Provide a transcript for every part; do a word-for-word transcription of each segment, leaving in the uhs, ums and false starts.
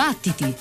Battiti!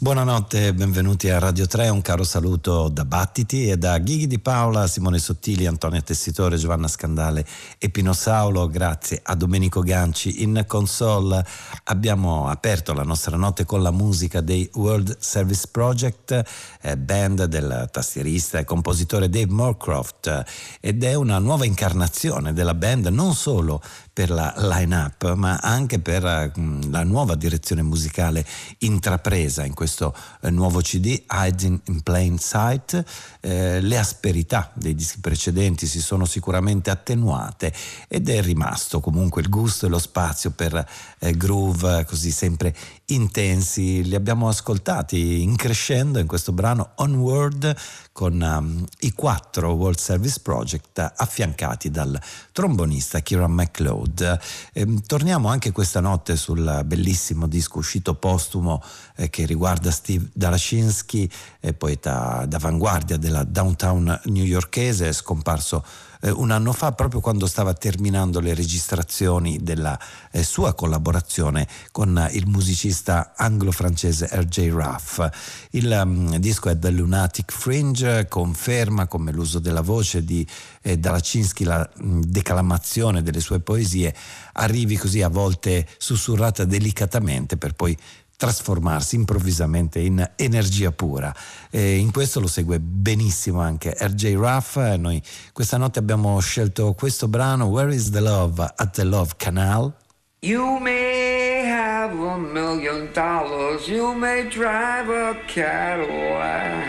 Buonanotte e benvenuti a Radio tre, un caro saluto da Battiti e da Ghighi Di Paola, Simone Sottili, Antonia Tessitore, Giovanna Scandale e Pino Saulo. Grazie a Domenico Ganci in console. Abbiamo aperto la nostra notte con la musica dei World Service Project, eh, band del tastierista e compositore Dave Moorcroft, ed è una nuova incarnazione della band non solo per la line-up ma anche per uh, la nuova direzione musicale intrapresa in questo uh, nuovo C D, Hiding in Plain Sight. Eh, le asperità dei dischi precedenti si sono sicuramente attenuate ed è rimasto comunque il gusto e lo spazio per eh, groove così sempre intensi. Li abbiamo ascoltati in crescendo in questo brano Onward con um, i quattro World Service Project affiancati dal trombonista Kieran MacLeod. Eh, torniamo anche questa notte sul bellissimo disco uscito postumo eh, che riguarda Steve Dalachinsky, eh, poeta d'avanguardia della downtown newyorkese, scomparso un anno fa proprio quando stava terminando le registrazioni della eh, sua collaborazione con il musicista anglo-francese R J Ruff. Il um, disco è The Lunatic Fringe, conferma come l'uso della voce di eh, Dalachinsky, la mh, declamazione delle sue poesie arrivi così a volte sussurrata delicatamente per poi trasformarsi improvvisamente in energia pura. E in questo lo segue benissimo anche R J Ruff. Noi questa notte abbiamo scelto questo brano, Where is the Love at the Love Canal. You may have a million dollars, you may drive a Cadillac,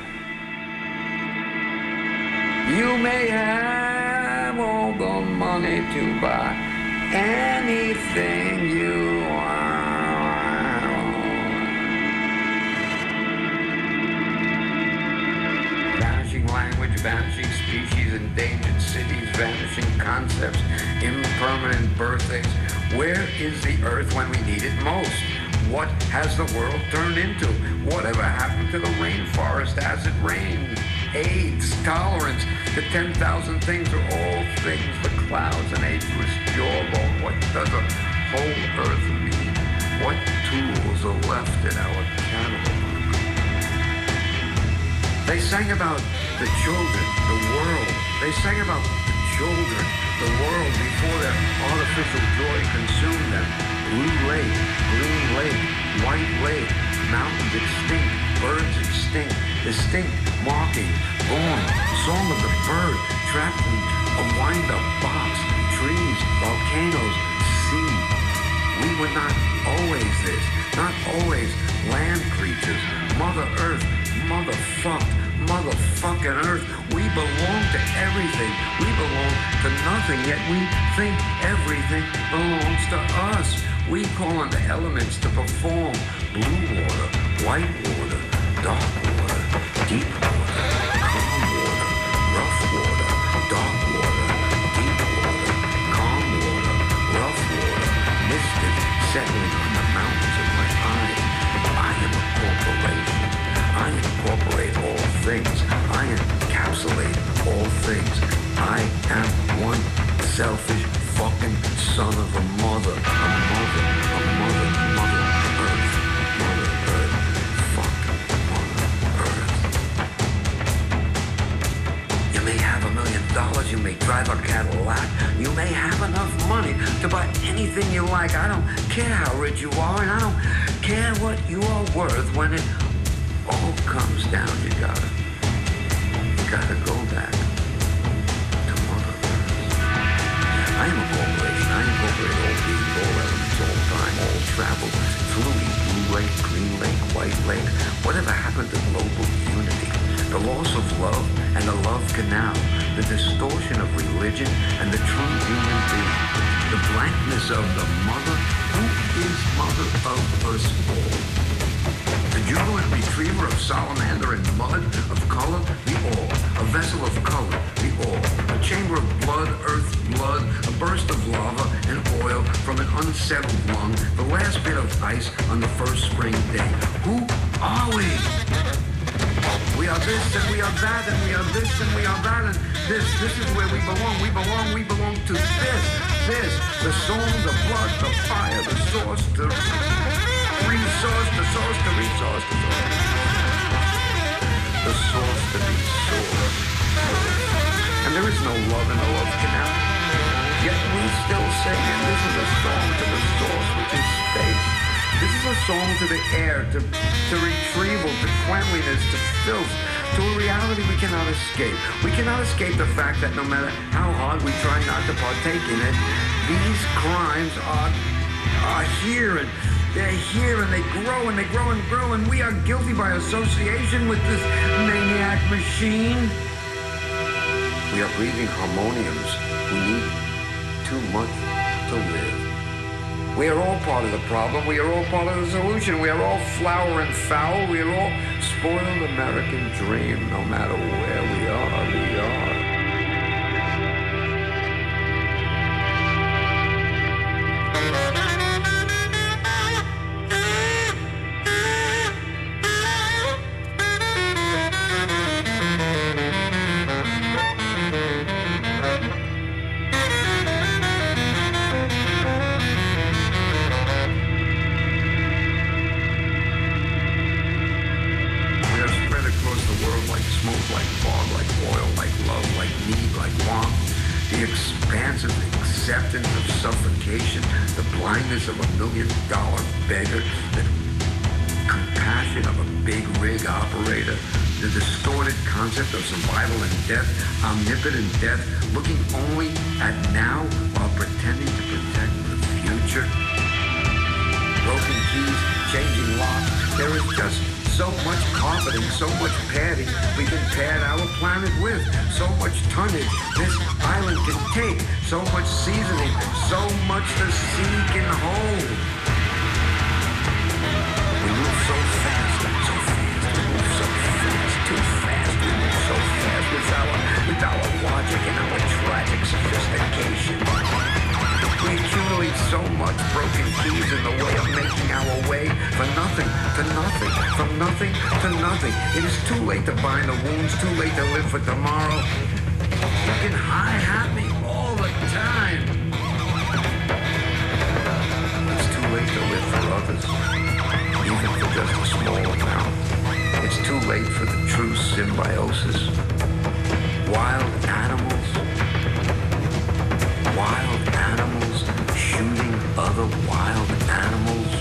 you may have all the money to buy anything you want. Vanishing language, vanishing species, endangered cities, vanishing concepts, impermanent birthdays. Where is the earth when we need it most? What has the world turned into? Whatever happened to the rainforest as it rained? AIDS, tolerance, the ten thousand things are all things, the clouds, an ageless jawbone. What does a whole earth mean? What tools are left in our catalog? They sang about the children, the world. They sang about the children, the world before their artificial joy consumed them. Blue lake, green lake, white lake, mountains extinct, birds extinct, distinct markings, born, song of the bird, trapped in a wind-up box, trees, volcanoes, sea. We were not always this, not always land creatures, Mother Earth, motherfucked, motherfucking Earth. We belong to everything. We belong to nothing, yet we think everything belongs to us. We call on the elements to perform. Blue water, white water, dark water, deep water, calm water, rough water, dark water, deep water, calm water, rough water, mystic settling on the mountains of my eyes. I am a corporation. I incorporate all things. I encapsulate all things. I am one selfish fucking son of a mother. A mother, a mother, mother earth. Mother earth. Fuck mother earth. You may have a million dollars. You may drive a Cadillac. You may have enough money to buy anything you like. I don't care how rich you are, and I don't care what you are worth when it all comes down. You gotta, you gotta go back to Mother Earth. I am a corporation. I incorporate all beings, all elements, all time, all travel, fluid, blue lake, green lake, white lake. Whatever happened to global unity? The loss of love and the love canal, the distortion of religion and the true human being, the blankness of the mother. Who is mother of us all? The jubilant retriever of salamander and mud, of color, the all. A vessel of color, the all. A chamber of blood, earth, blood, a burst of lava and oil from an unsettled lung, the last bit of ice on the first spring day. Who are we? We are this and we are that and we are this and we are that and this. This is where we belong. We belong, we belong to this, this. The song, the blood, the fire, the source, the resource, the source to resource to source. The source to be source. And there is no love in the love canal. Yet we still sing, and this is a song to the source, which is space. This is a song to the air, to, to retrieval, to cleanliness, to filth, to a reality we cannot escape. We cannot escape the fact that no matter how hard we try not to partake in it, these crimes are, are here, and they're here, and they grow, and they grow and grow, and we are guilty by association with this maniac machine. We are breathing harmoniums who need too much to live. We are all part of the problem. We are all part of the solution. We are all flower and foul. We are all spoiled American dream. No matter where we are, we are. Of a million dollar beggar, the compassion of a big rig operator, the distorted concept of survival and death, omnipotent death, looking only at now while pretending to protect the future. Broken keys, changing locks, there is just so much carpeting, so much padding we can pad our planet with, so much tonnage this island can take, so much seasoning, so much the sea can hold. We move so fast, so fast, we move so fast, too fast, we move so fast with our, with our logic and our tragic sophistication. We accumulate so much broken keys in the way of making our way for nothing, to nothing, from nothing to nothing. It is too late to bind the wounds, too late to live for tomorrow. You can hi-hat me all the time. It's too late to live for others, even for just a small amount. It's too late for the true symbiosis. Wild animals, wild animals shooting other wild animals.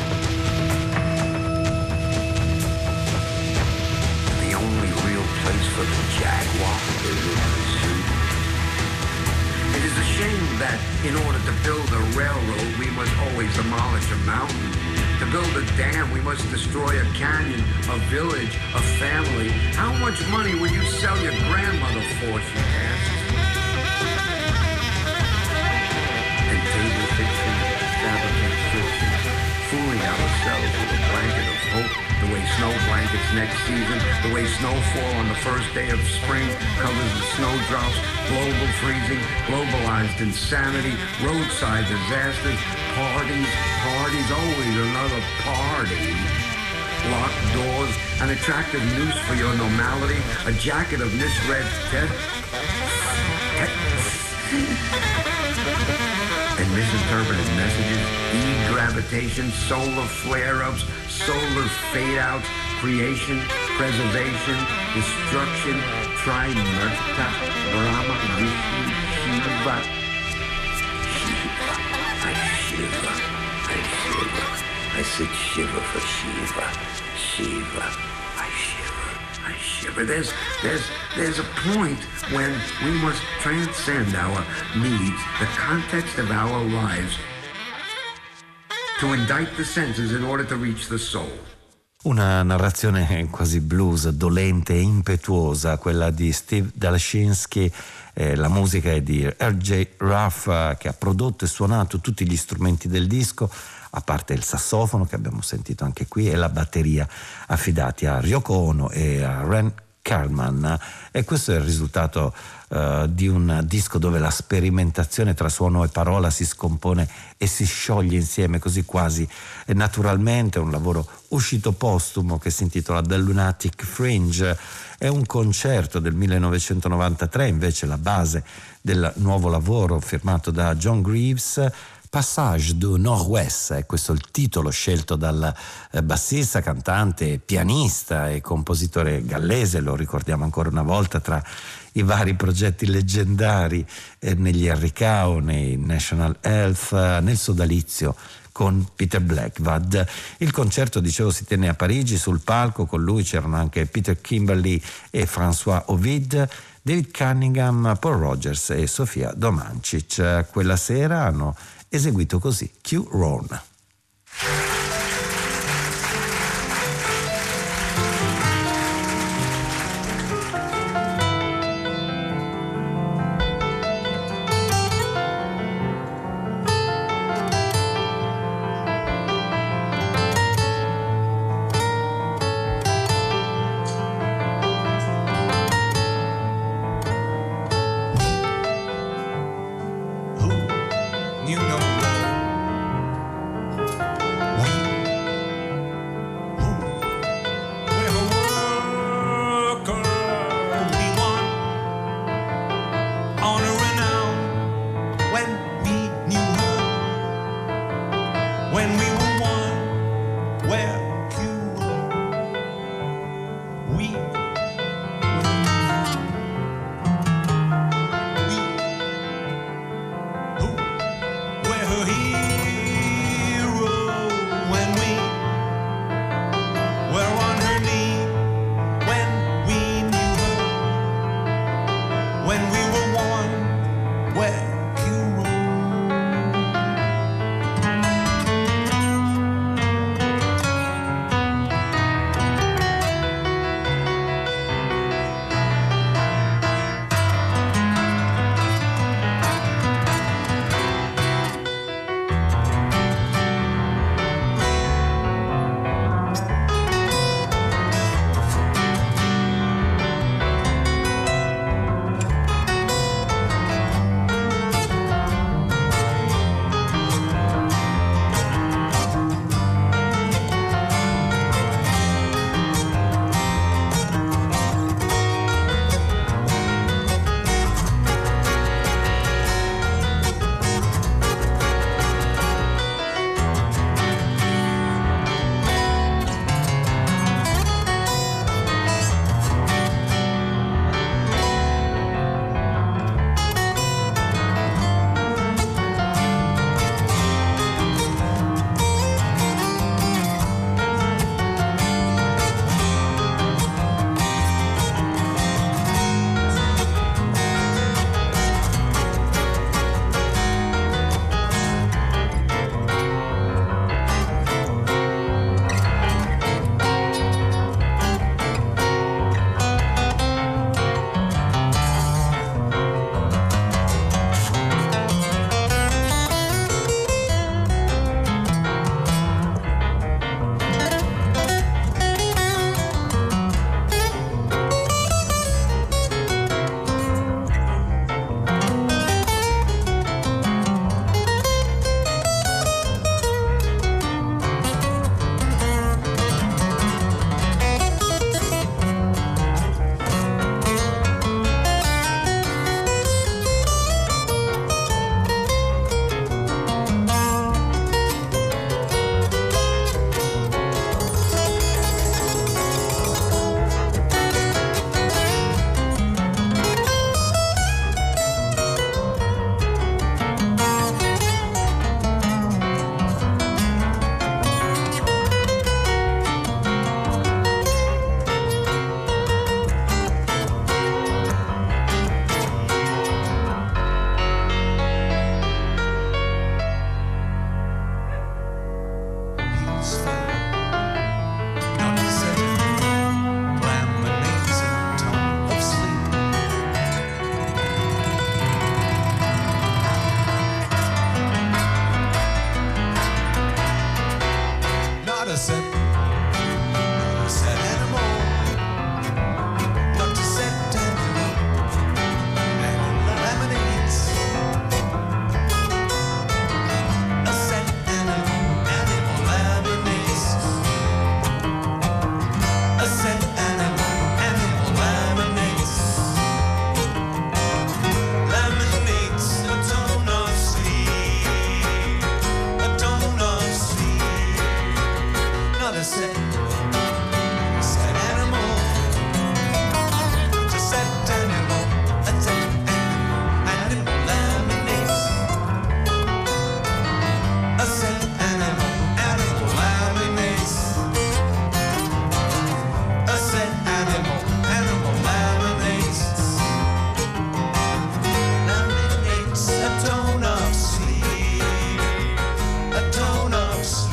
The only real place for the jaguar is in the zoo. It is a shame that in order to build a railroad, we must always demolish a mountain. To build a dam, we must destroy a canyon, a village, a family. How much money would you sell your grandmother for, she asked. And table fiction, fabricate fiction, fooling ourselves with a blanket of hope, the way snow blankets next season, the way snowfall on the first day of spring covers the snowdrops, global freezing, globalized insanity, roadside disasters, parties, parties, always another party. Locked doors, an attractive noose for your normality, a jacket of misread text, and misinterpreted messages, e-gravitation, solar flare-ups, solar fade-outs, creation, preservation, destruction, Trimurta, Brahma, Vishnu, Shiva. Shiva, I shiver, I shiver. I said shiver for Shiva, Shiva, I shiver, I shiver. There's, there's, there's a point when we must transcend our needs, the context of our lives, to indict the senses in order to reach the soul. Una narrazione quasi blues, dolente e impetuosa, quella di Steve Dalachinsky. Eh, la musica è di R J Ruff, eh, che ha prodotto e suonato tutti gli strumenti del disco, a parte il sassofono che abbiamo sentito anche qui e la batteria, affidati a Ryoko Ono e a Ren Carman. E questo è il risultato uh, di un disco dove la sperimentazione tra suono e parola si scompone e si scioglie insieme così quasi naturalmente. Un lavoro uscito postumo che si intitola The Lunatic Fringe. È un concerto del millenovecentonovantatré, invece la base del nuovo lavoro firmato da John Greaves, Passage du Nord-Ouest, è questo il titolo scelto dal bassista, cantante, pianista e compositore gallese, lo ricordiamo ancora una volta tra i vari progetti leggendari eh, negli Harry Cow, nei National Health, eh, nel sodalizio con Peter Blackwood. Il concerto, dicevo, si tenne a Parigi. Sul palco con lui c'erano anche Peter Kimberly e François Ovid, David Cunningham, Paul Rogers e Sofia Domancic. Quella sera hanno eseguito così Q Roan. a sad, sad animal. Just a sad animal, a sad animal, animal laminates. A sad animal, animal laminates. A sad animal, animal laminates. Laminates a tone of sleep, a tone of sleep.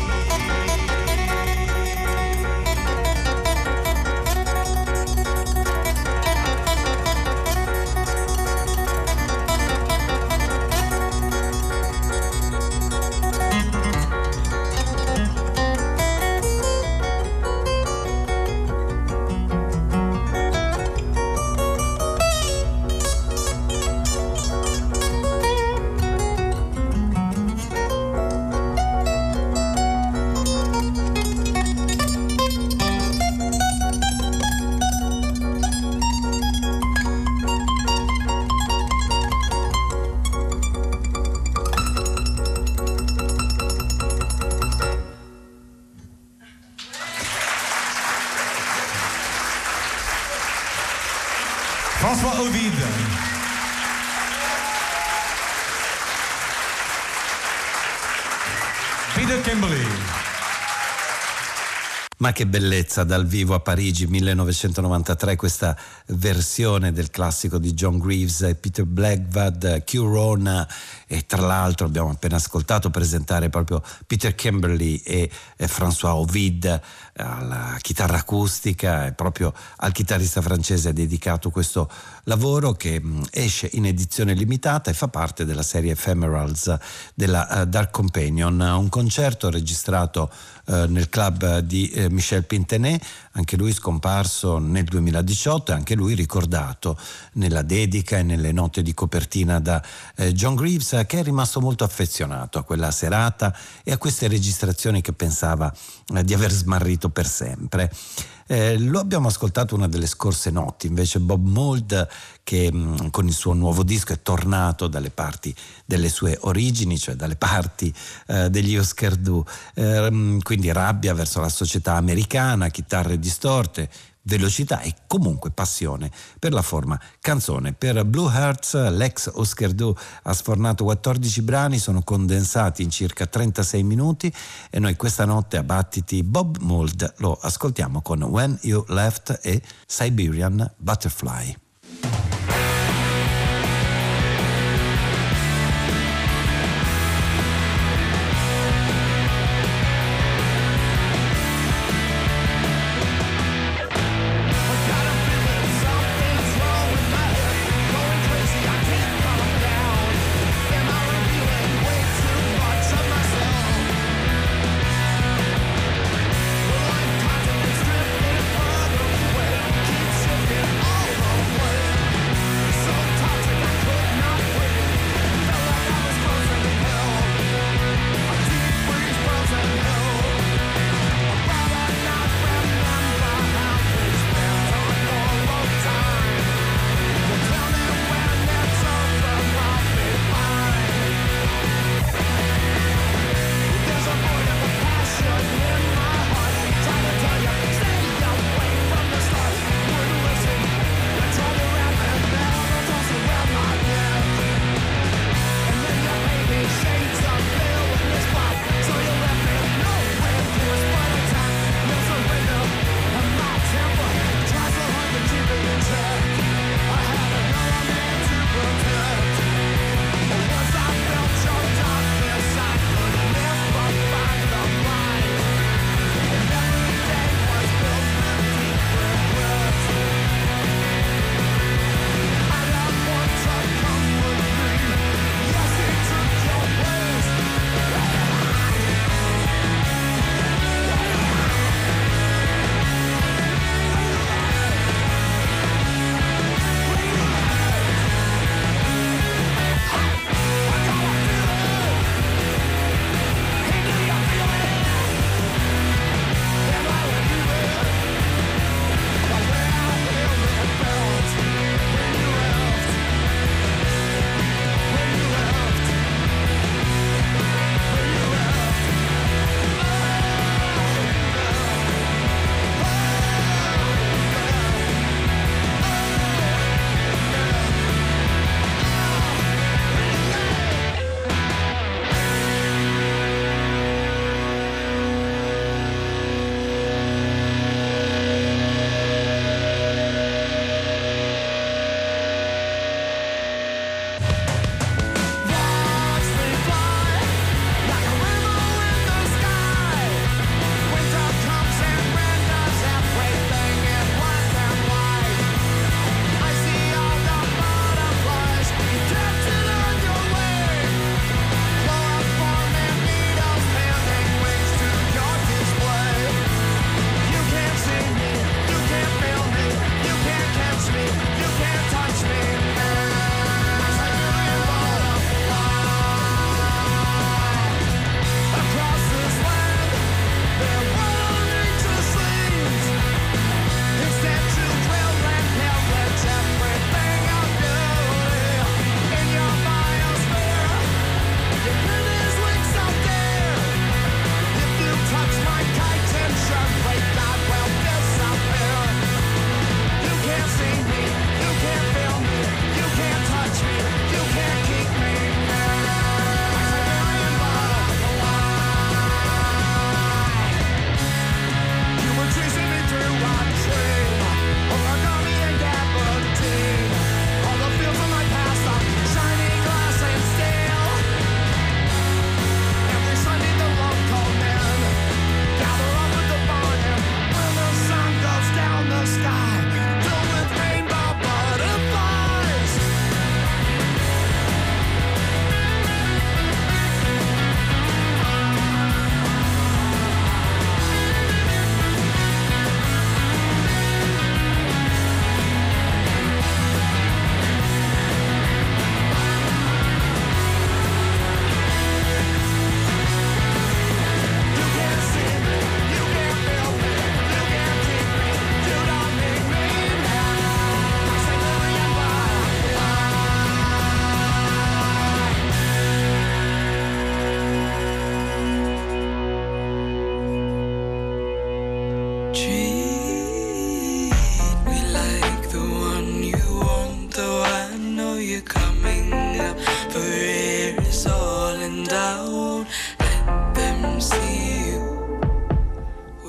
François Ovid. Peter Kimberly. Ma che bellezza dal vivo a Parigi millenovecentonovantatré, questa versione del classico di John Greaves e Peter Blackwood, Q Rona, e tra l'altro abbiamo appena ascoltato presentare proprio Peter Kimberly e, e François Ovid alla chitarra acustica, e proprio al chitarrista francese è dedicato questo lavoro che mh, esce in edizione limitata e fa parte della serie Ephemerals della uh, Dark Companion, un concerto registrato uh, nel club di uh, Michel Pintenet, anche lui scomparso nel duemiladiciotto e anche lui ricordato nella dedica e nelle note di copertina da uh, John Greaves, che è rimasto molto affezionato a quella serata e a queste registrazioni che pensava uh, di aver smarrito per sempre. Eh, lo abbiamo ascoltato una delle scorse notti, invece Bob Mould, che mh, con il suo nuovo disco è tornato dalle parti delle sue origini, cioè dalle parti eh, degli Husker Du, eh, quindi rabbia verso la società americana, chitarre distorte, velocità e comunque passione per la forma canzone. Per Blue Hearts l'ex Husker Du ha sfornato quattordici brani, sono condensati in circa trentasei minuti, e noi questa notte a Battiti Bob Mould lo ascoltiamo con When You Left e Siberian Butterfly. All the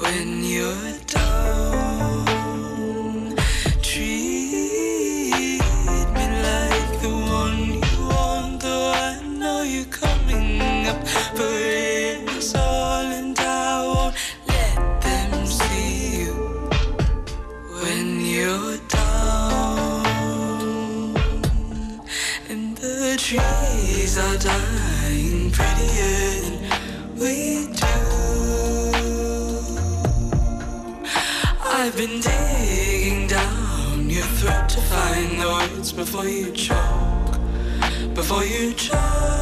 when you're down. Treat me like the one you want, though I know you're coming up for it's all, and I won't let them see you when you're down. And the trees are dying prettier than we do. I've been digging down your throat to find the words before you choke, before you choke,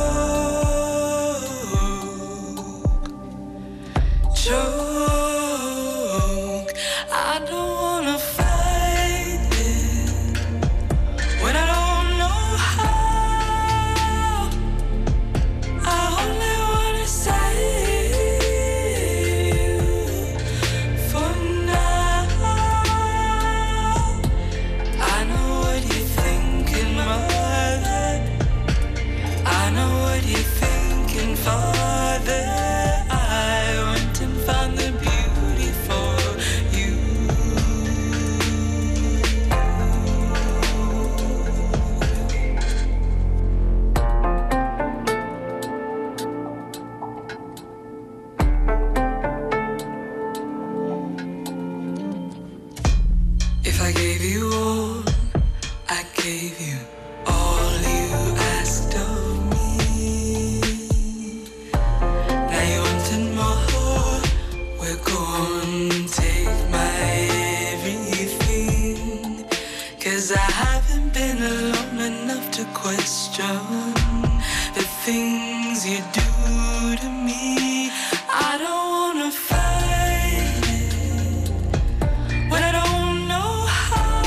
choke. I don't wanna fight it when I don't know how. I only wanna save you for now. I know what you're thinking, mother. I know what you're thinking, father. I went and found the beauty for you. If I gave you all, I gave you all you asked of me. Now you wanted more, we're gonna take my everything. Cause I haven't been alone enough to question the things you do to me. I don't wanna fight it when I don't know how.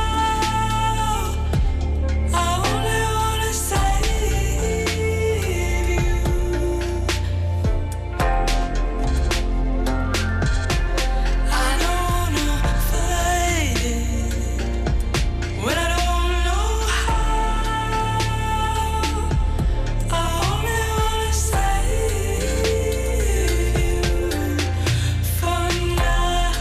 I only wanna save you. I don't wanna fight it when I don't know how. I only wanna save you for now.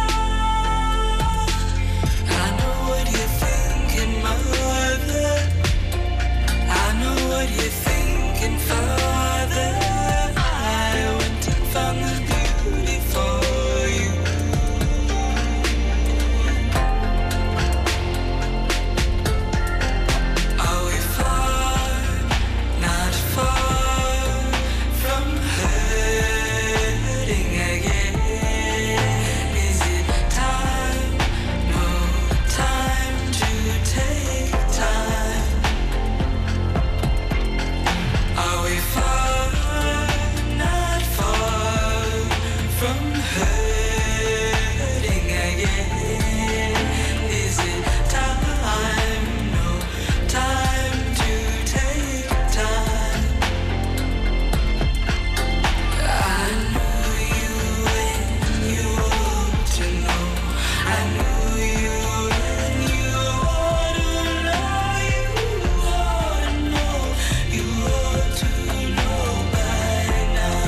I know what you're thinking, mother. I know what you're thinking, father. I went and found the beauty for you. Are we far, not far from hurting again? Is it time, no time to take time? Are we far, not far from hurting again? Is it time, no time to take time? I knew you when you ought to know. I knew you when you ought to know. You ought to know. You ought to know by now.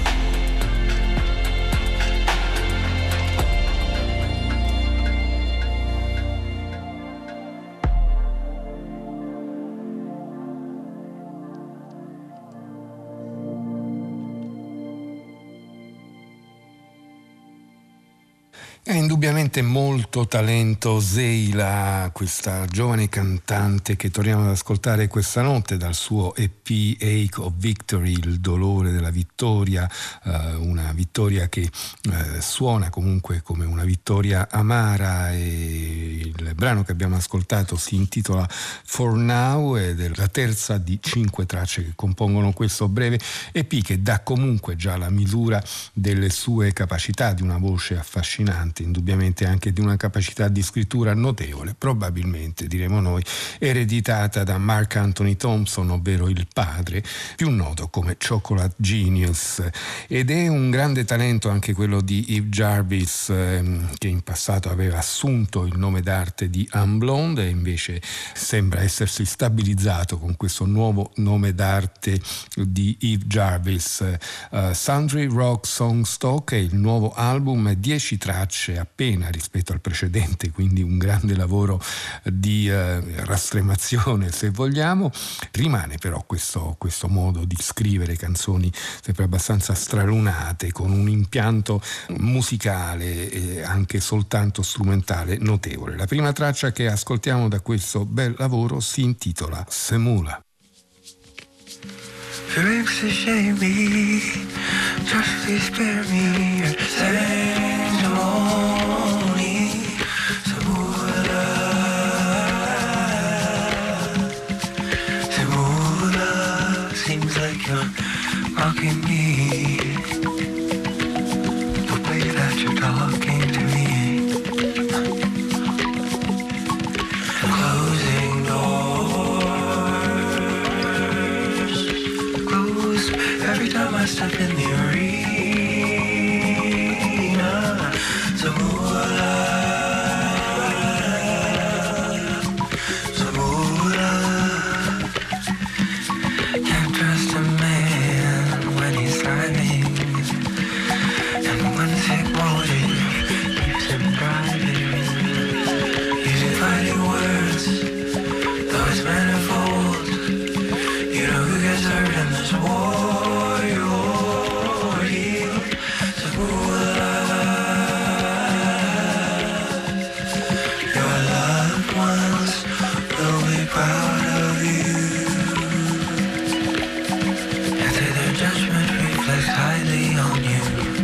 È indubbiamente molto talento Zeila, questa giovane cantante che torniamo ad ascoltare questa notte dal suo E P Ache of Victory, il dolore della vittoria, eh, una vittoria che eh, suona comunque come una vittoria amara. E il brano che abbiamo ascoltato si intitola For Now ed è la terza di cinque tracce che compongono questo breve E P che dà comunque già la misura delle sue capacità, di una voce affascinante parte indubbiamente anche di una capacità di scrittura notevole, probabilmente diremo noi ereditata da Mark Anthony Thompson, ovvero il padre, più noto come Chocolate Genius, ed è un grande talento anche quello di Eve Jarvis, ehm, che in passato aveva assunto il nome d'arte di Anne Blonde e invece sembra essersi stabilizzato con questo nuovo nome d'arte di Eve Jarvis. uh, Sundry Rock Song Stock è il nuovo album, dieci tracce appena rispetto al precedente, quindi un grande lavoro di uh, rastremazione se vogliamo. Rimane però questo, questo modo di scrivere canzoni sempre abbastanza stralunate, con un impianto musicale e anche soltanto strumentale notevole. La prima traccia che ascoltiamo da questo bel lavoro si intitola Semula. Lyrics to shame me, just please spare me your testimony. Semula, Semula, seems like you're mocking me. The way that you're talking to me, closing doors, close every time I step in the arena. Semula, Semula, can't trust a man when he's driving, and when sick motive keeps him driving, using fighting words, though it's manifold. You know who gets hurt in this war, you're healed. Semula, your loved ones will be proud of you, and say their judgment reflects highly on you.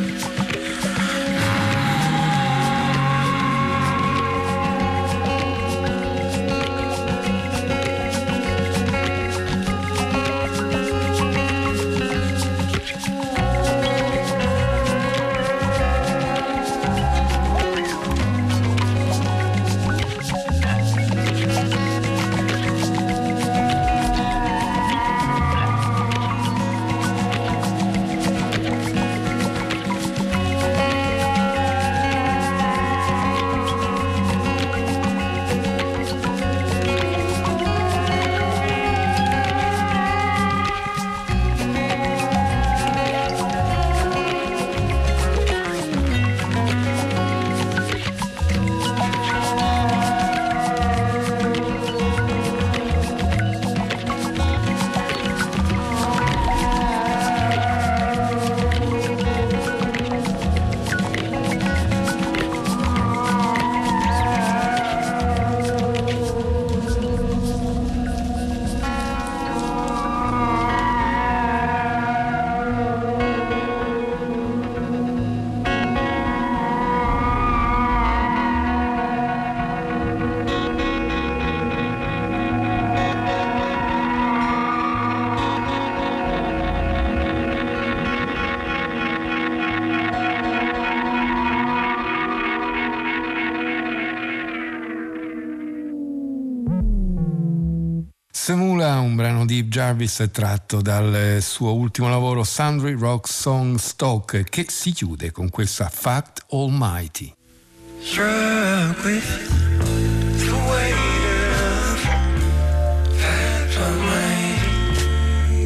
Semula, un brano di Eve Jarvis tratto dal suo ultimo lavoro Sundry Rock Song Stock, che si chiude con questa Fact Almighty. Struck with the weight of facts almighty,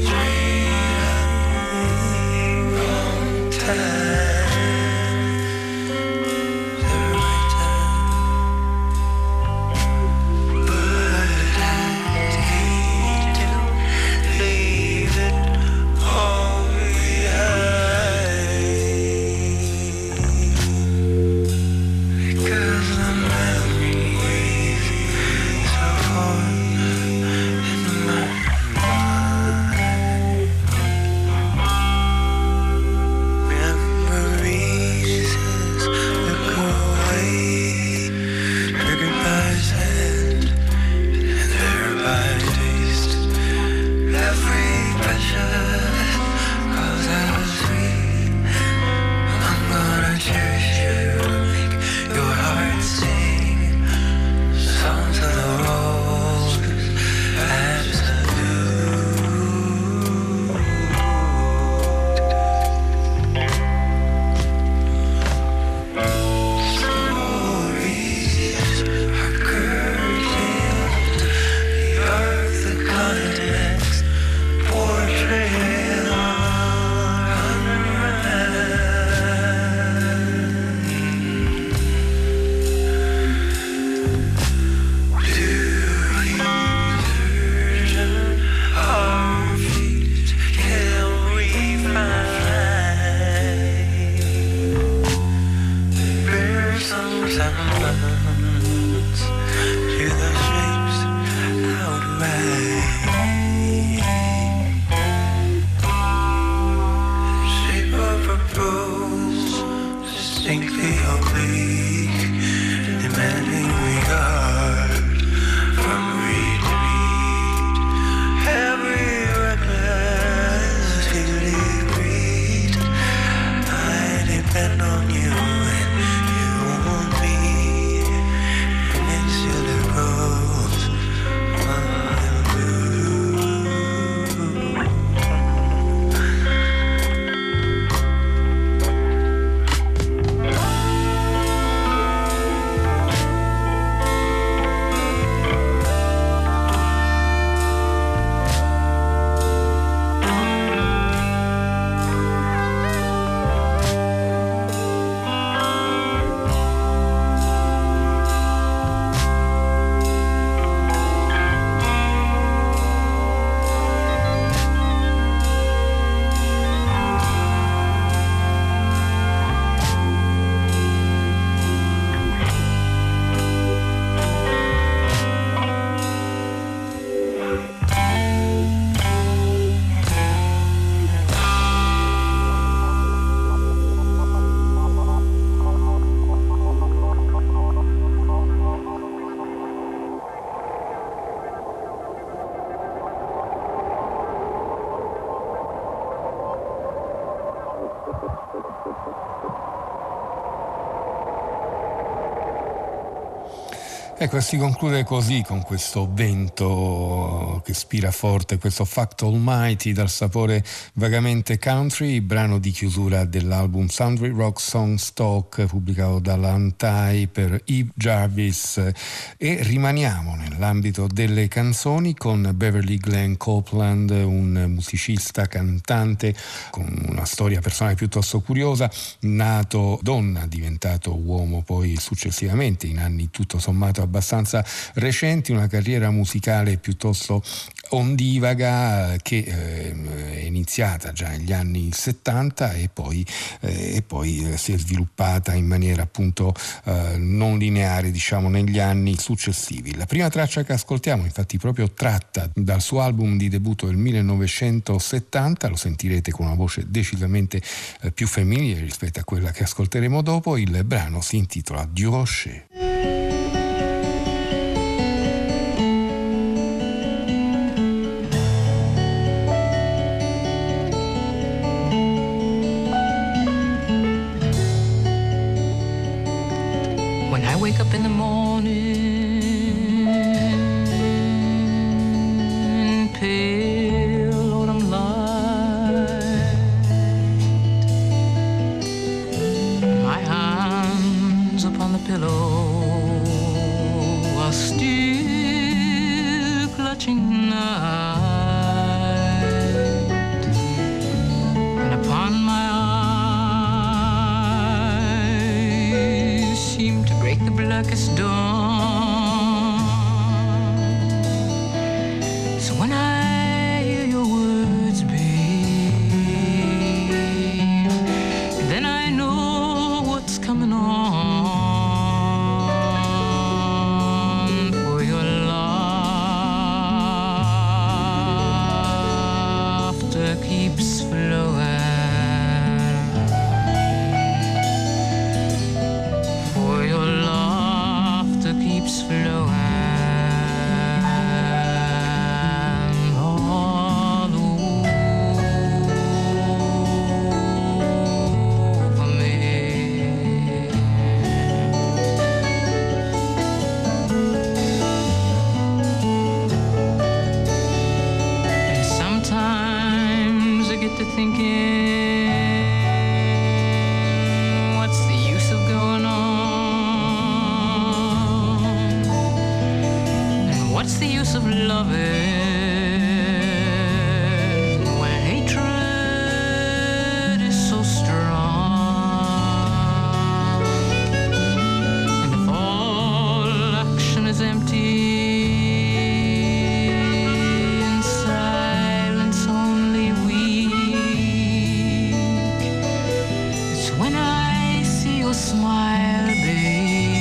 wrong time. Cause the memories distinctly oblique, demanding regard from reed to reed. Every recklessly agreed, I depend on you and you on me. It still grows while blue. Ecco, si conclude così con questo vento che spira forte, questo Fact Almighty dal sapore vagamente country, brano di chiusura dell'album Sundry Rock Song Stock pubblicato dalla Antai per Eve Jarvis, e rimaniamo nell'ambito delle canzoni con Beverly Glenn Copeland, un musicista cantante con una storia personale piuttosto curiosa, nato donna, diventato uomo poi successivamente in anni tutto sommato abbastanza recenti, una carriera musicale piuttosto ondivaga che eh, è iniziata già negli anni settanta e poi, eh, e poi si è sviluppata in maniera appunto eh, non lineare, diciamo, negli anni successivi. La prima traccia che ascoltiamo, infatti, proprio tratta dal suo album di debutto del millenovecentosettanta, lo sentirete con una voce decisamente eh, più femminile rispetto a quella che ascolteremo dopo. Il brano si intitola Du Rocher. Wake up in the morning, pale autumn light, my hands upon the pillow are still clutching night, and upon my eyes seem to break the blackest dawn. So when I hear your words, babe, then I know what's coming on. For your laughter keeps flowing. Flowing all over me. And sometimes I get to thinking, what's the use of going on? What's the use of loving when hatred is so strong? And if all action is empty and silence only weak, it's when I see your smile, babe,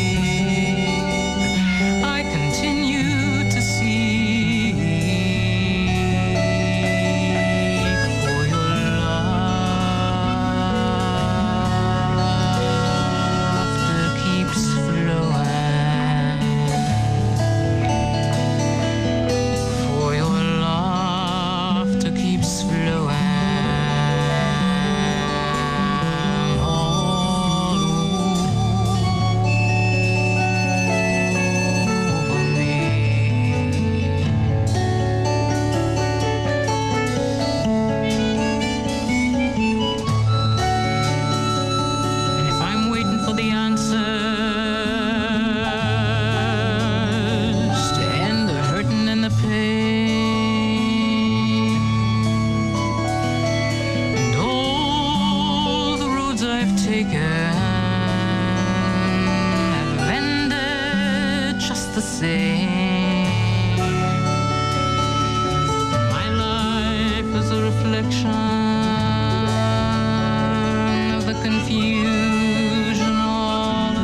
I continue to seek for your love. the same. My life is a reflection of the confusion all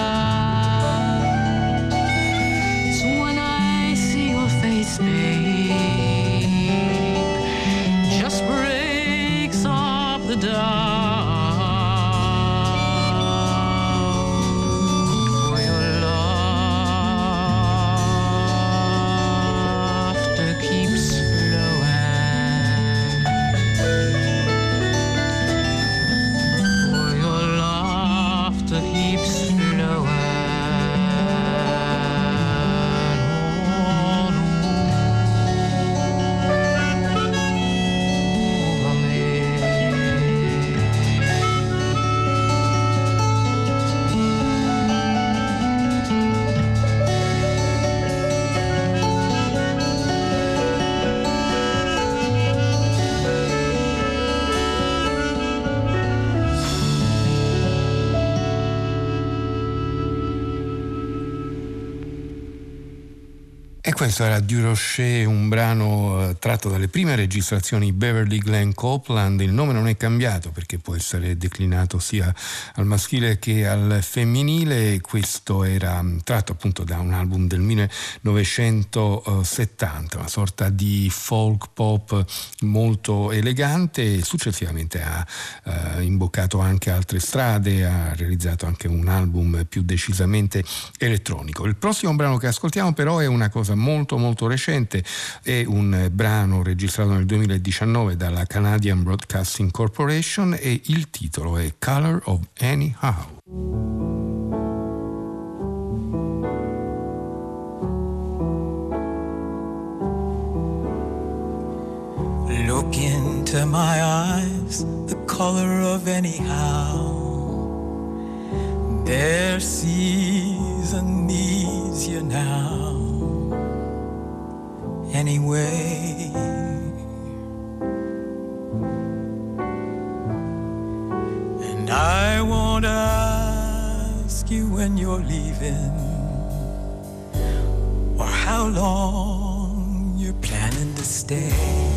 about. So when I see your face, babe, just breaks off the dark. Questo era Du Rocher, un brano eh, tratto dalle prime registrazioni Beverly Glenn Copeland. Il nome non è cambiato perché può essere declinato sia al maschile che al femminile. Questo era tratto appunto da un album del millenovecentosettanta, una sorta di folk pop molto elegante. Successivamente ha eh, imboccato anche altre strade, ha realizzato anche un album più decisamente elettronico. Il prossimo brano che ascoltiamo però è una cosa molto molto molto recente, è un brano registrato nel duemiladiciannove dalla Canadian Broadcasting Corporation e il titolo è Color of Anyhow. Look into my eyes, the color of anyhow. Their season needs you now. Anyway, and I won't ask you when you're leaving or how long you're planning to stay.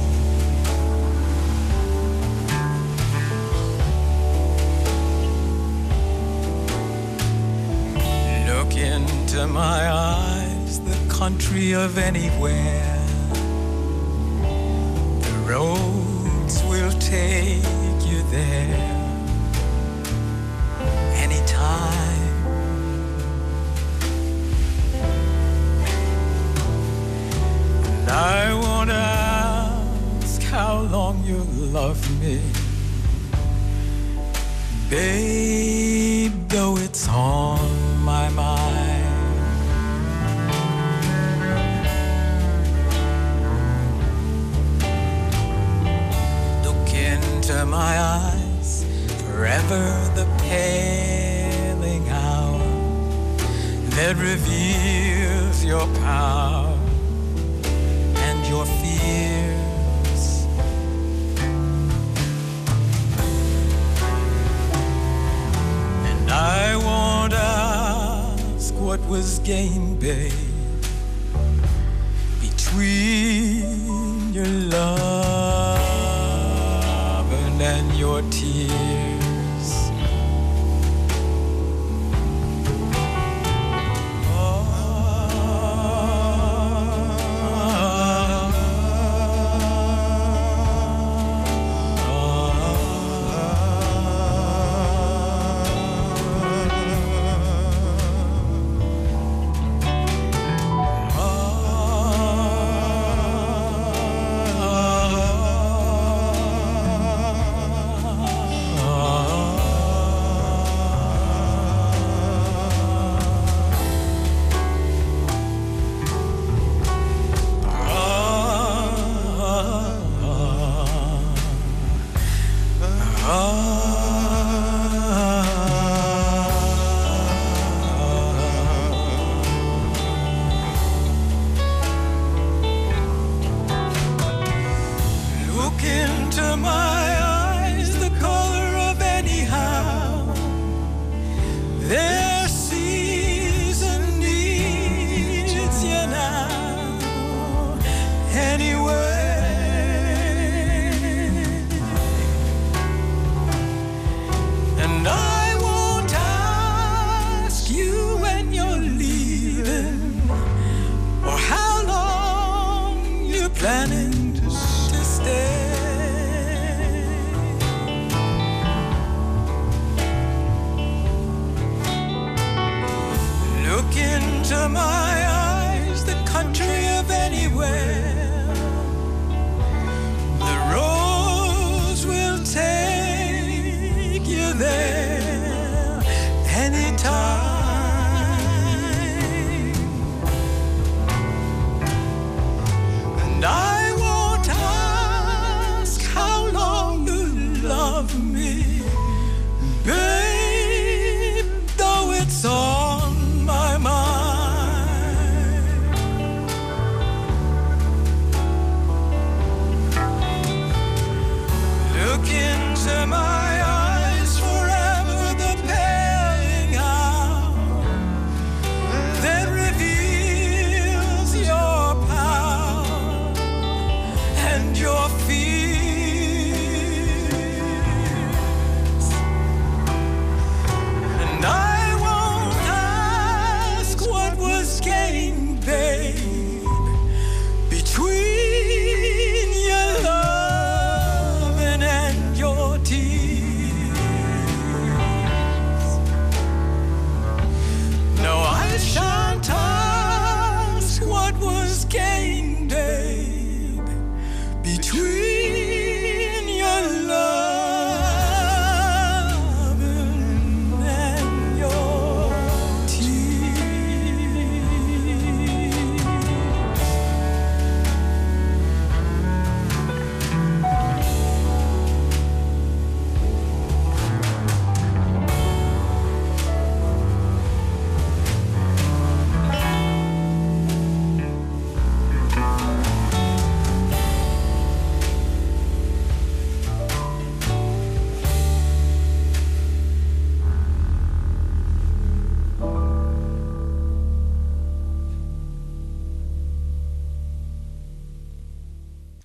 Look into my eyes, the country of anywhere. Roads will take you there anytime. And I won't ask how long you'll love me, babe, though it's on my mind. To my eyes, forever the paling hour that reveals your power and your fears. And I won't ask what was gained, babe, between your love and your tears. Oh, Their season needs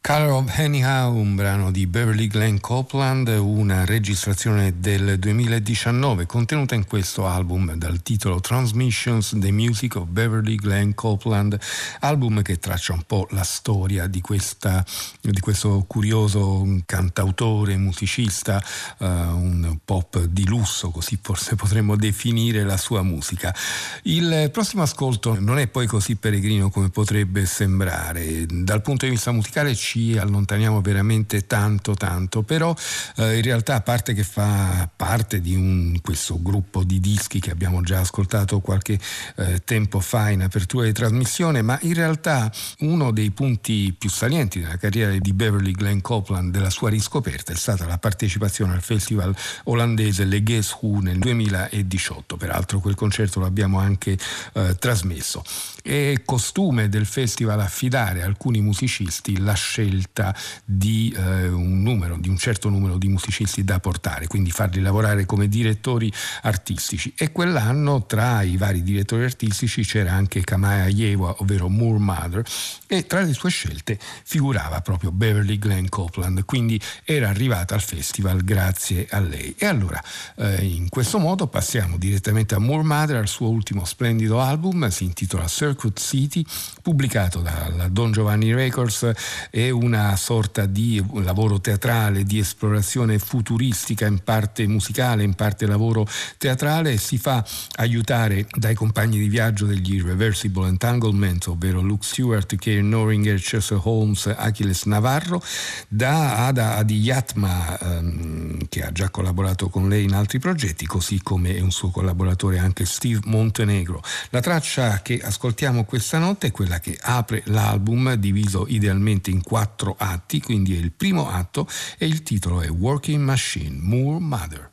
Color of Anyhow, un brano di Beverly Glenn Copeland, una registrazione del duemiladiciannove contenuta in questo album dal titolo Transmissions, The Music of Beverly Glenn Copeland, album che traccia un po' la storia di, questa, di questo curioso cantautore, musicista, uh, un pop di lusso, così forse potremmo definire la sua musica. Il prossimo ascolto non è poi così peregrino come potrebbe sembrare. Dal punto di vista musicale ci allontaniamo veramente tanto tanto, però eh, in realtà, a parte che fa parte di un, questo gruppo di dischi che abbiamo già ascoltato qualche eh, tempo fa in apertura di trasmissione, ma in realtà uno dei punti più salienti della carriera di Beverly Glenn Copeland, della sua riscoperta, è stata la partecipazione al festival olandese Le Guess Who nel duemiladiciotto. Peraltro quel concerto l'abbiamo anche eh, trasmesso. È costume del festival affidare a alcuni musicisti la scelta di eh, un numero, di un certo numero di musicisti da portare, quindi farli lavorare come direttori artistici. E quell'anno tra i vari direttori artistici c'era anche Kamaya Yewa, ovvero Moor Mother, e tra le sue scelte figurava proprio Beverly Glenn Copeland, quindi era arrivata al festival grazie a lei. E allora eh, in questo modo passiamo direttamente a Moor Mother, al suo ultimo splendido album, si intitola Circuit City, pubblicato dalla Don Giovanni Records. È una sorta di lavoro teatrale, di esplorazione futuristica, in parte musicale, in parte lavoro teatrale. Si fa aiutare dai compagni di viaggio degli Irreversible Entanglement, ovvero Luke Stewart, Karen Noringer, Chester Holmes, Achilles Navarro, da Ada Adiyatma, ehm, che ha già collaborato con lei in altri progetti, così come è un suo collaboratore anche Steve Montenegro. La traccia che ascoltiamo questa notte è quella che apre l'album, diviso idealmente in quattro atti, quindi è il primo atto e il titolo è Working Machine, Moor Mother.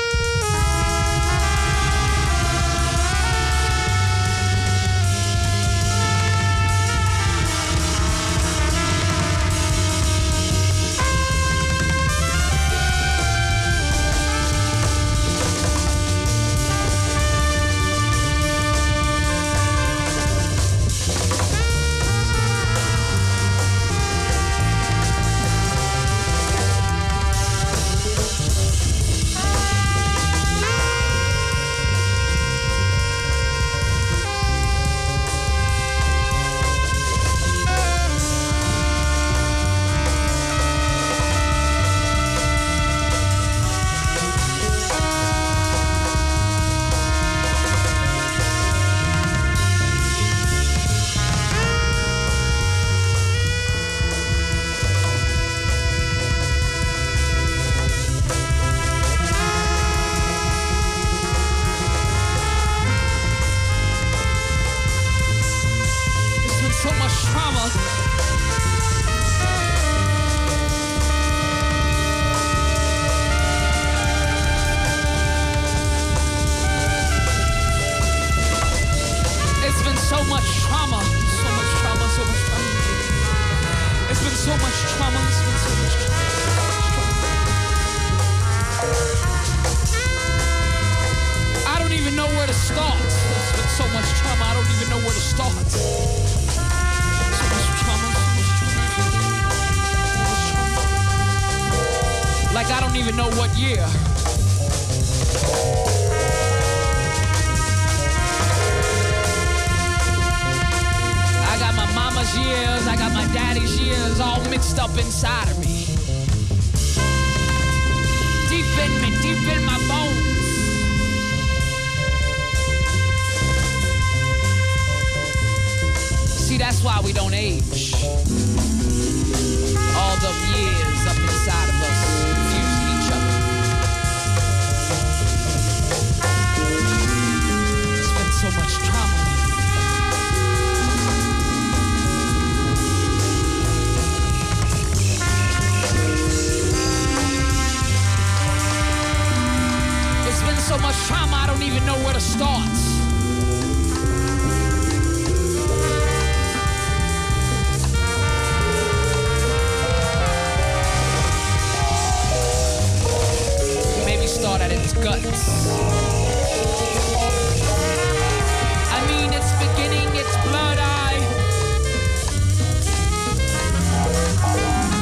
I mean, it's beginning, it's blood eye.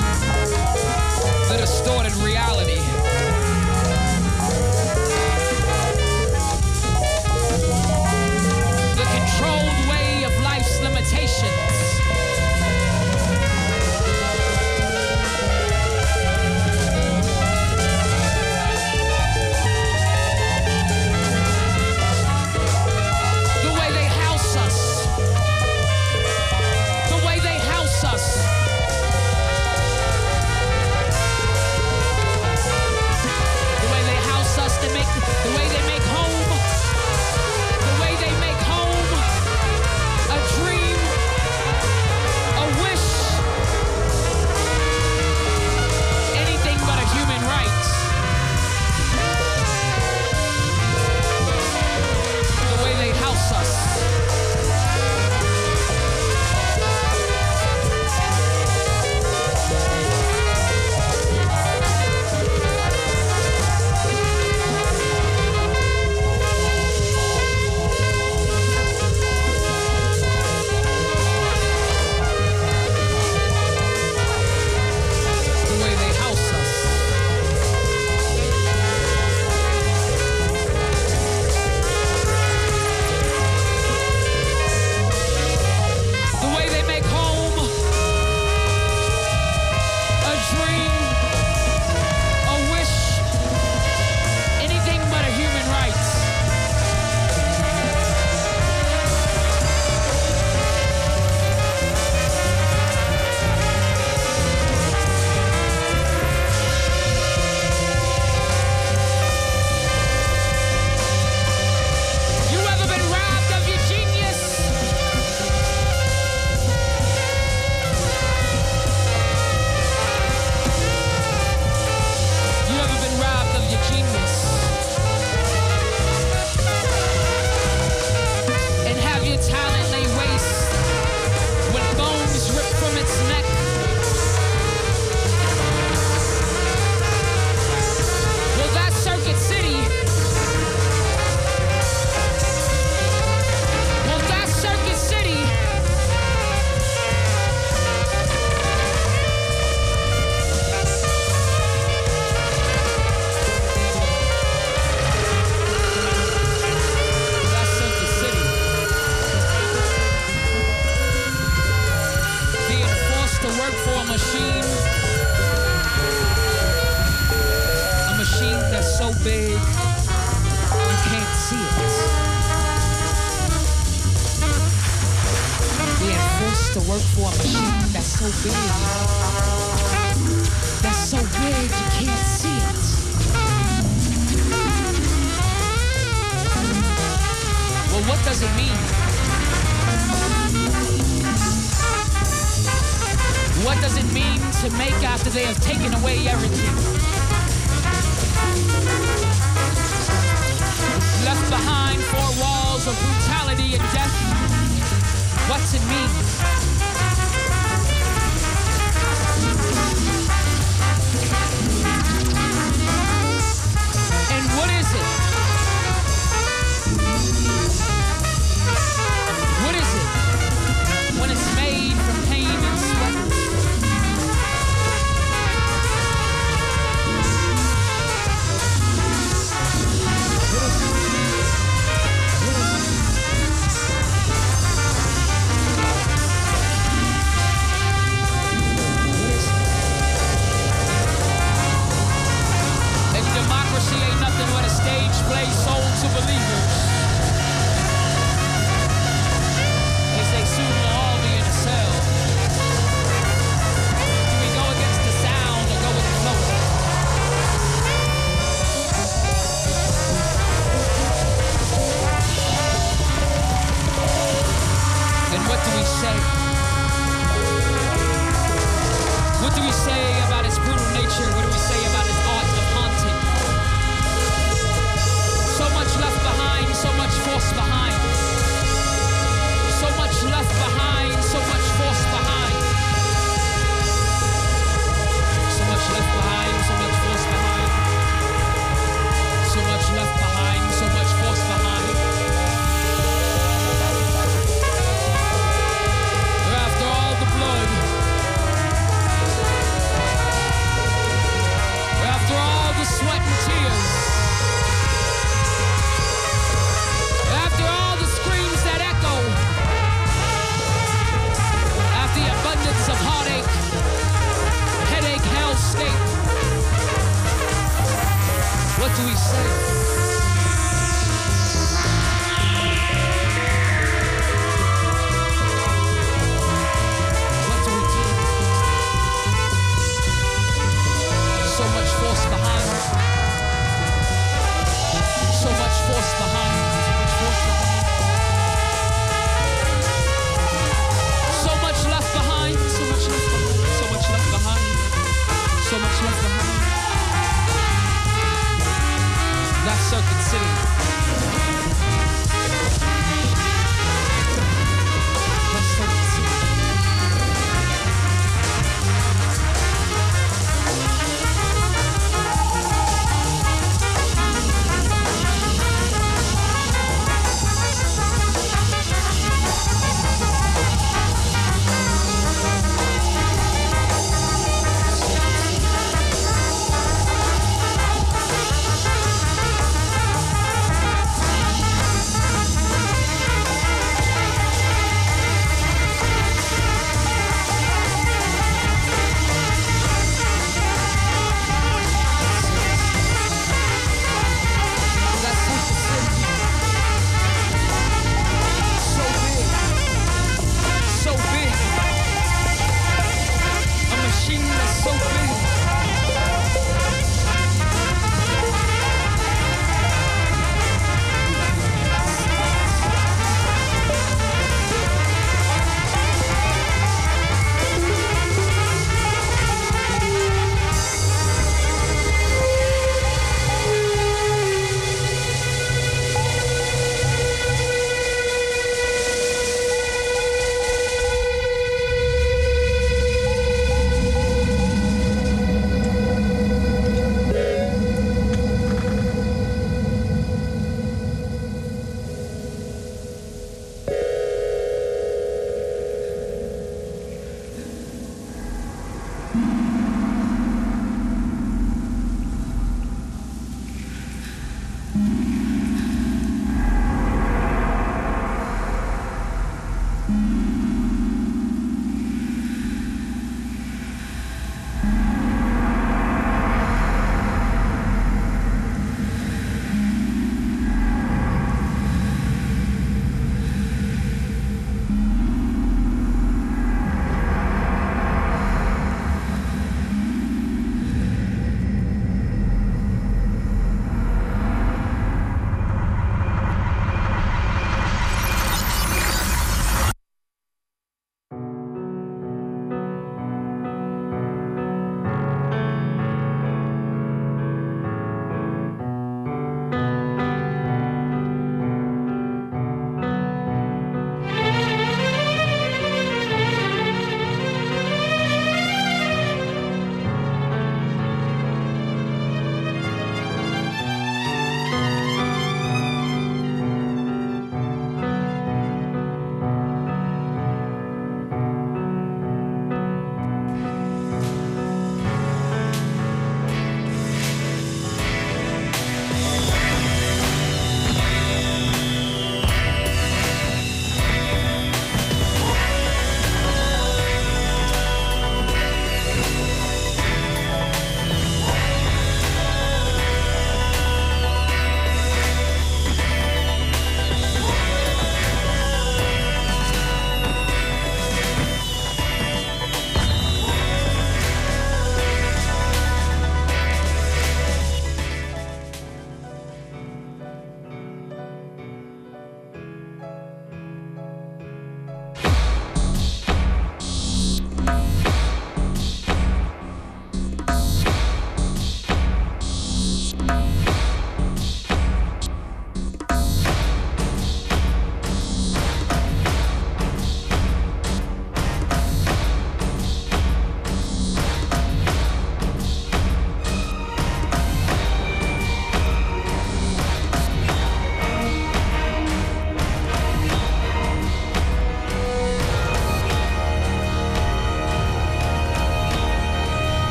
that's so big. That's so big you can't see it. Well, what does it mean? What does it mean to make after they have taken away everything? Left behind four walls of brutality and death. What's it mean? And what is it? What is it when it's made from pain and sweat?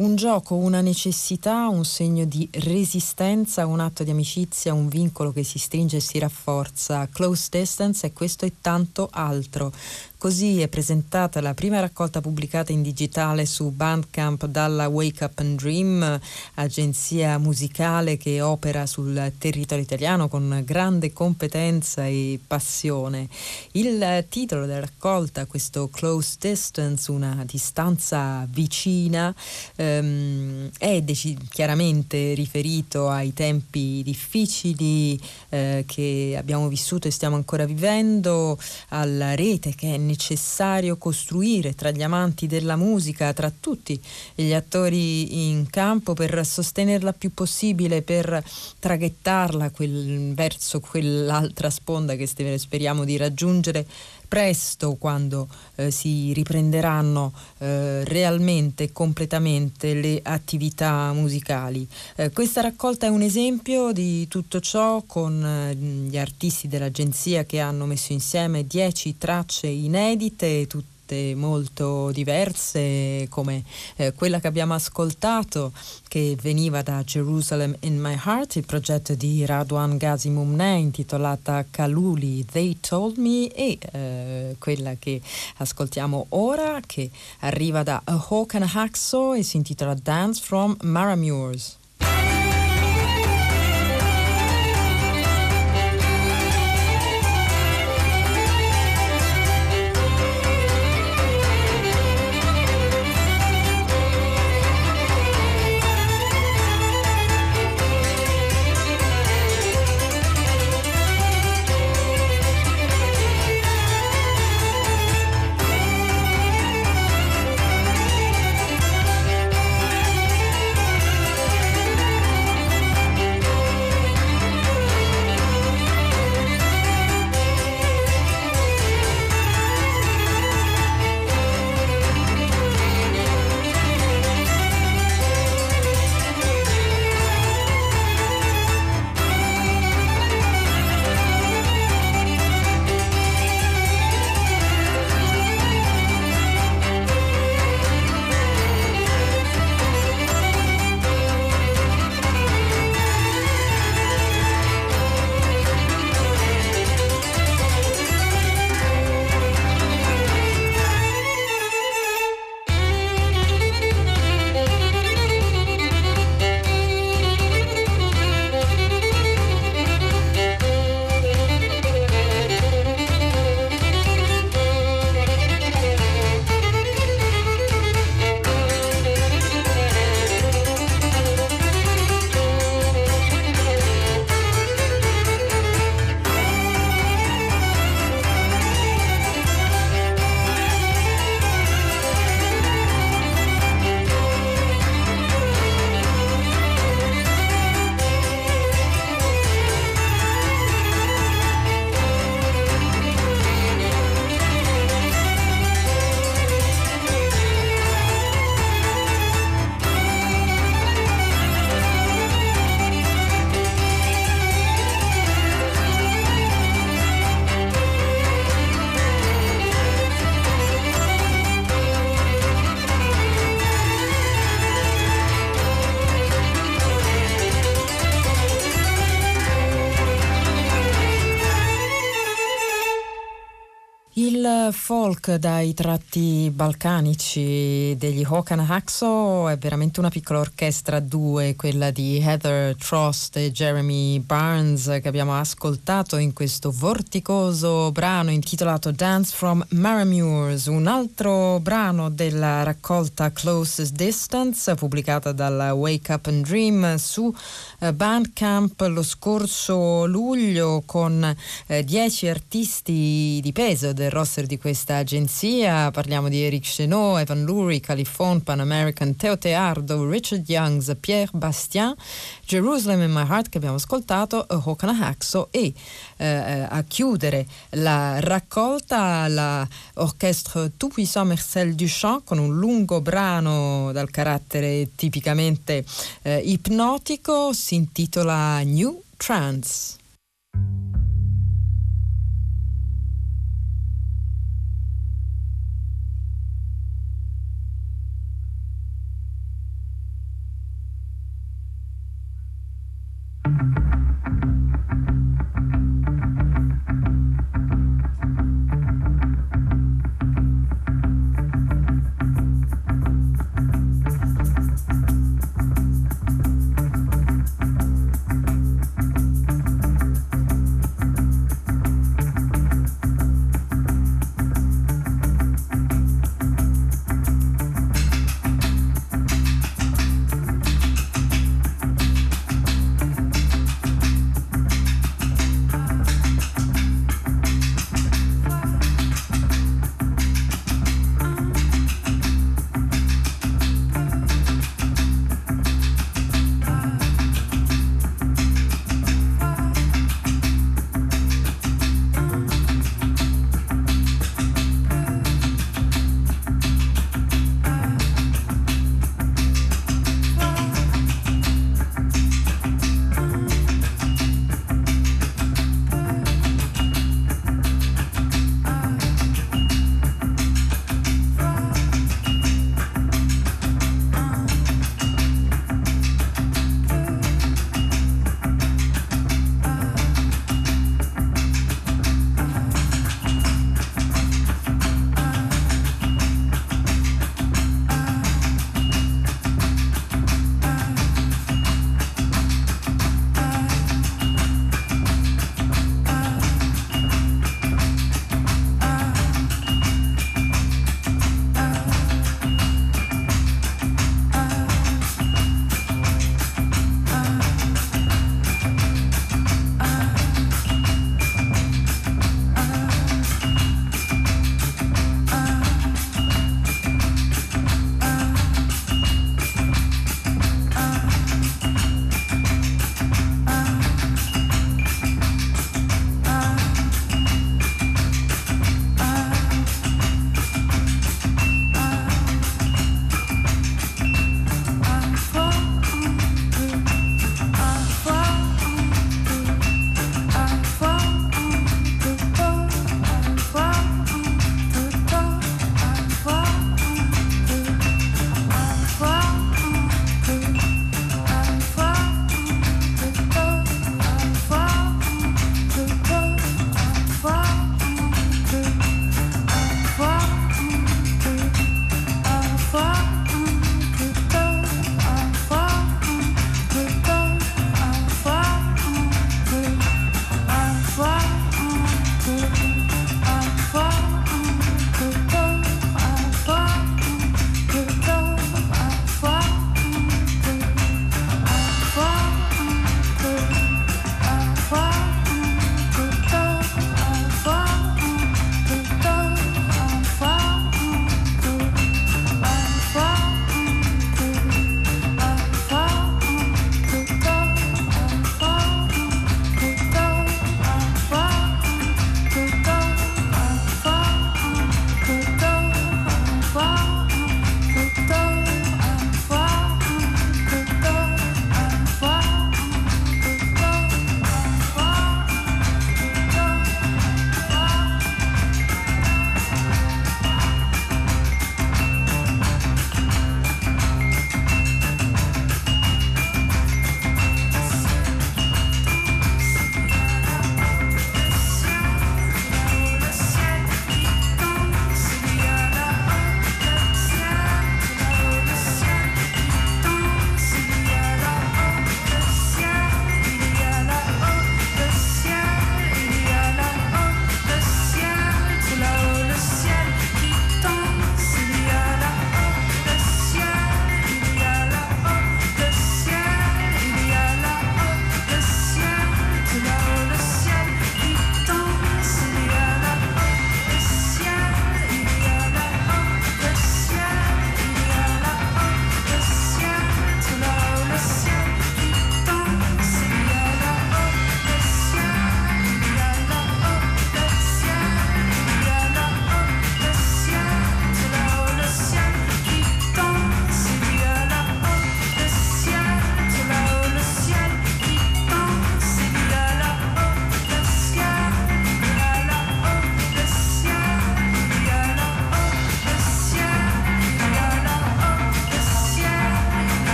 Un gioco, una necessità, un segno di resistenza, un atto di amicizia, un vincolo che si stringe e si rafforza. Close Distance è questo e tanto altro. Così è presentata la prima raccolta pubblicata in digitale su Bandcamp dalla Wake Up and Dream, agenzia musicale che opera sul territorio italiano con grande competenza e passione. Il titolo della raccolta, questo Close Distance, una distanza vicina, ehm, è dec- chiaramente riferito ai tempi difficili eh, che abbiamo vissuto e stiamo ancora vivendo, alla rete che è necessario costruire tra gli amanti della musica, tra tutti gli attori in campo, per sostenerla più possibile, per traghettarla quel, verso quell'altra sponda che speriamo di raggiungere presto, quando eh, si riprenderanno eh, realmente e completamente le attività musicali. Eh, questa raccolta è un esempio di tutto ciò, con eh, gli artisti dell'agenzia che hanno messo insieme dieci tracce inedite, tutte molto diverse, come eh, quella che abbiamo ascoltato, che veniva da Jerusalem in My Heart, il progetto di Radwan Ghazi Mumneh, intitolata Kaluli They Told Me, e eh, quella che ascoltiamo ora, che arriva da A Hawk and a Hacksaw e si intitola Dance from Maramures. Il folk dai tratti balcanici degli Hawk and a Hacksaw è veramente una piccola orchestra a due, quella di Heather Trost e Jeremy Barnes, che abbiamo ascoltato in questo vorticoso brano intitolato Dance from Maramures, un altro brano della raccolta Closest Distance pubblicata dalla Wake Up and Dream su Bandcamp lo scorso luglio, con eh, dieci artisti di peso del roster di questa agenzia. Parliamo di Eric Chenot, Evan Lurie, Califone, Pan American, Teo Teardo, Richard Youngs, Pierre Bastien, Jerusalem in My Heart che abbiamo ascoltato, A Hawk and a Hacksaw, e eh, a chiudere la raccolta la Orchestre Tout Puissant Marcel Duchamp con un lungo brano dal carattere tipicamente eh, ipnotico, si intitola New Trance.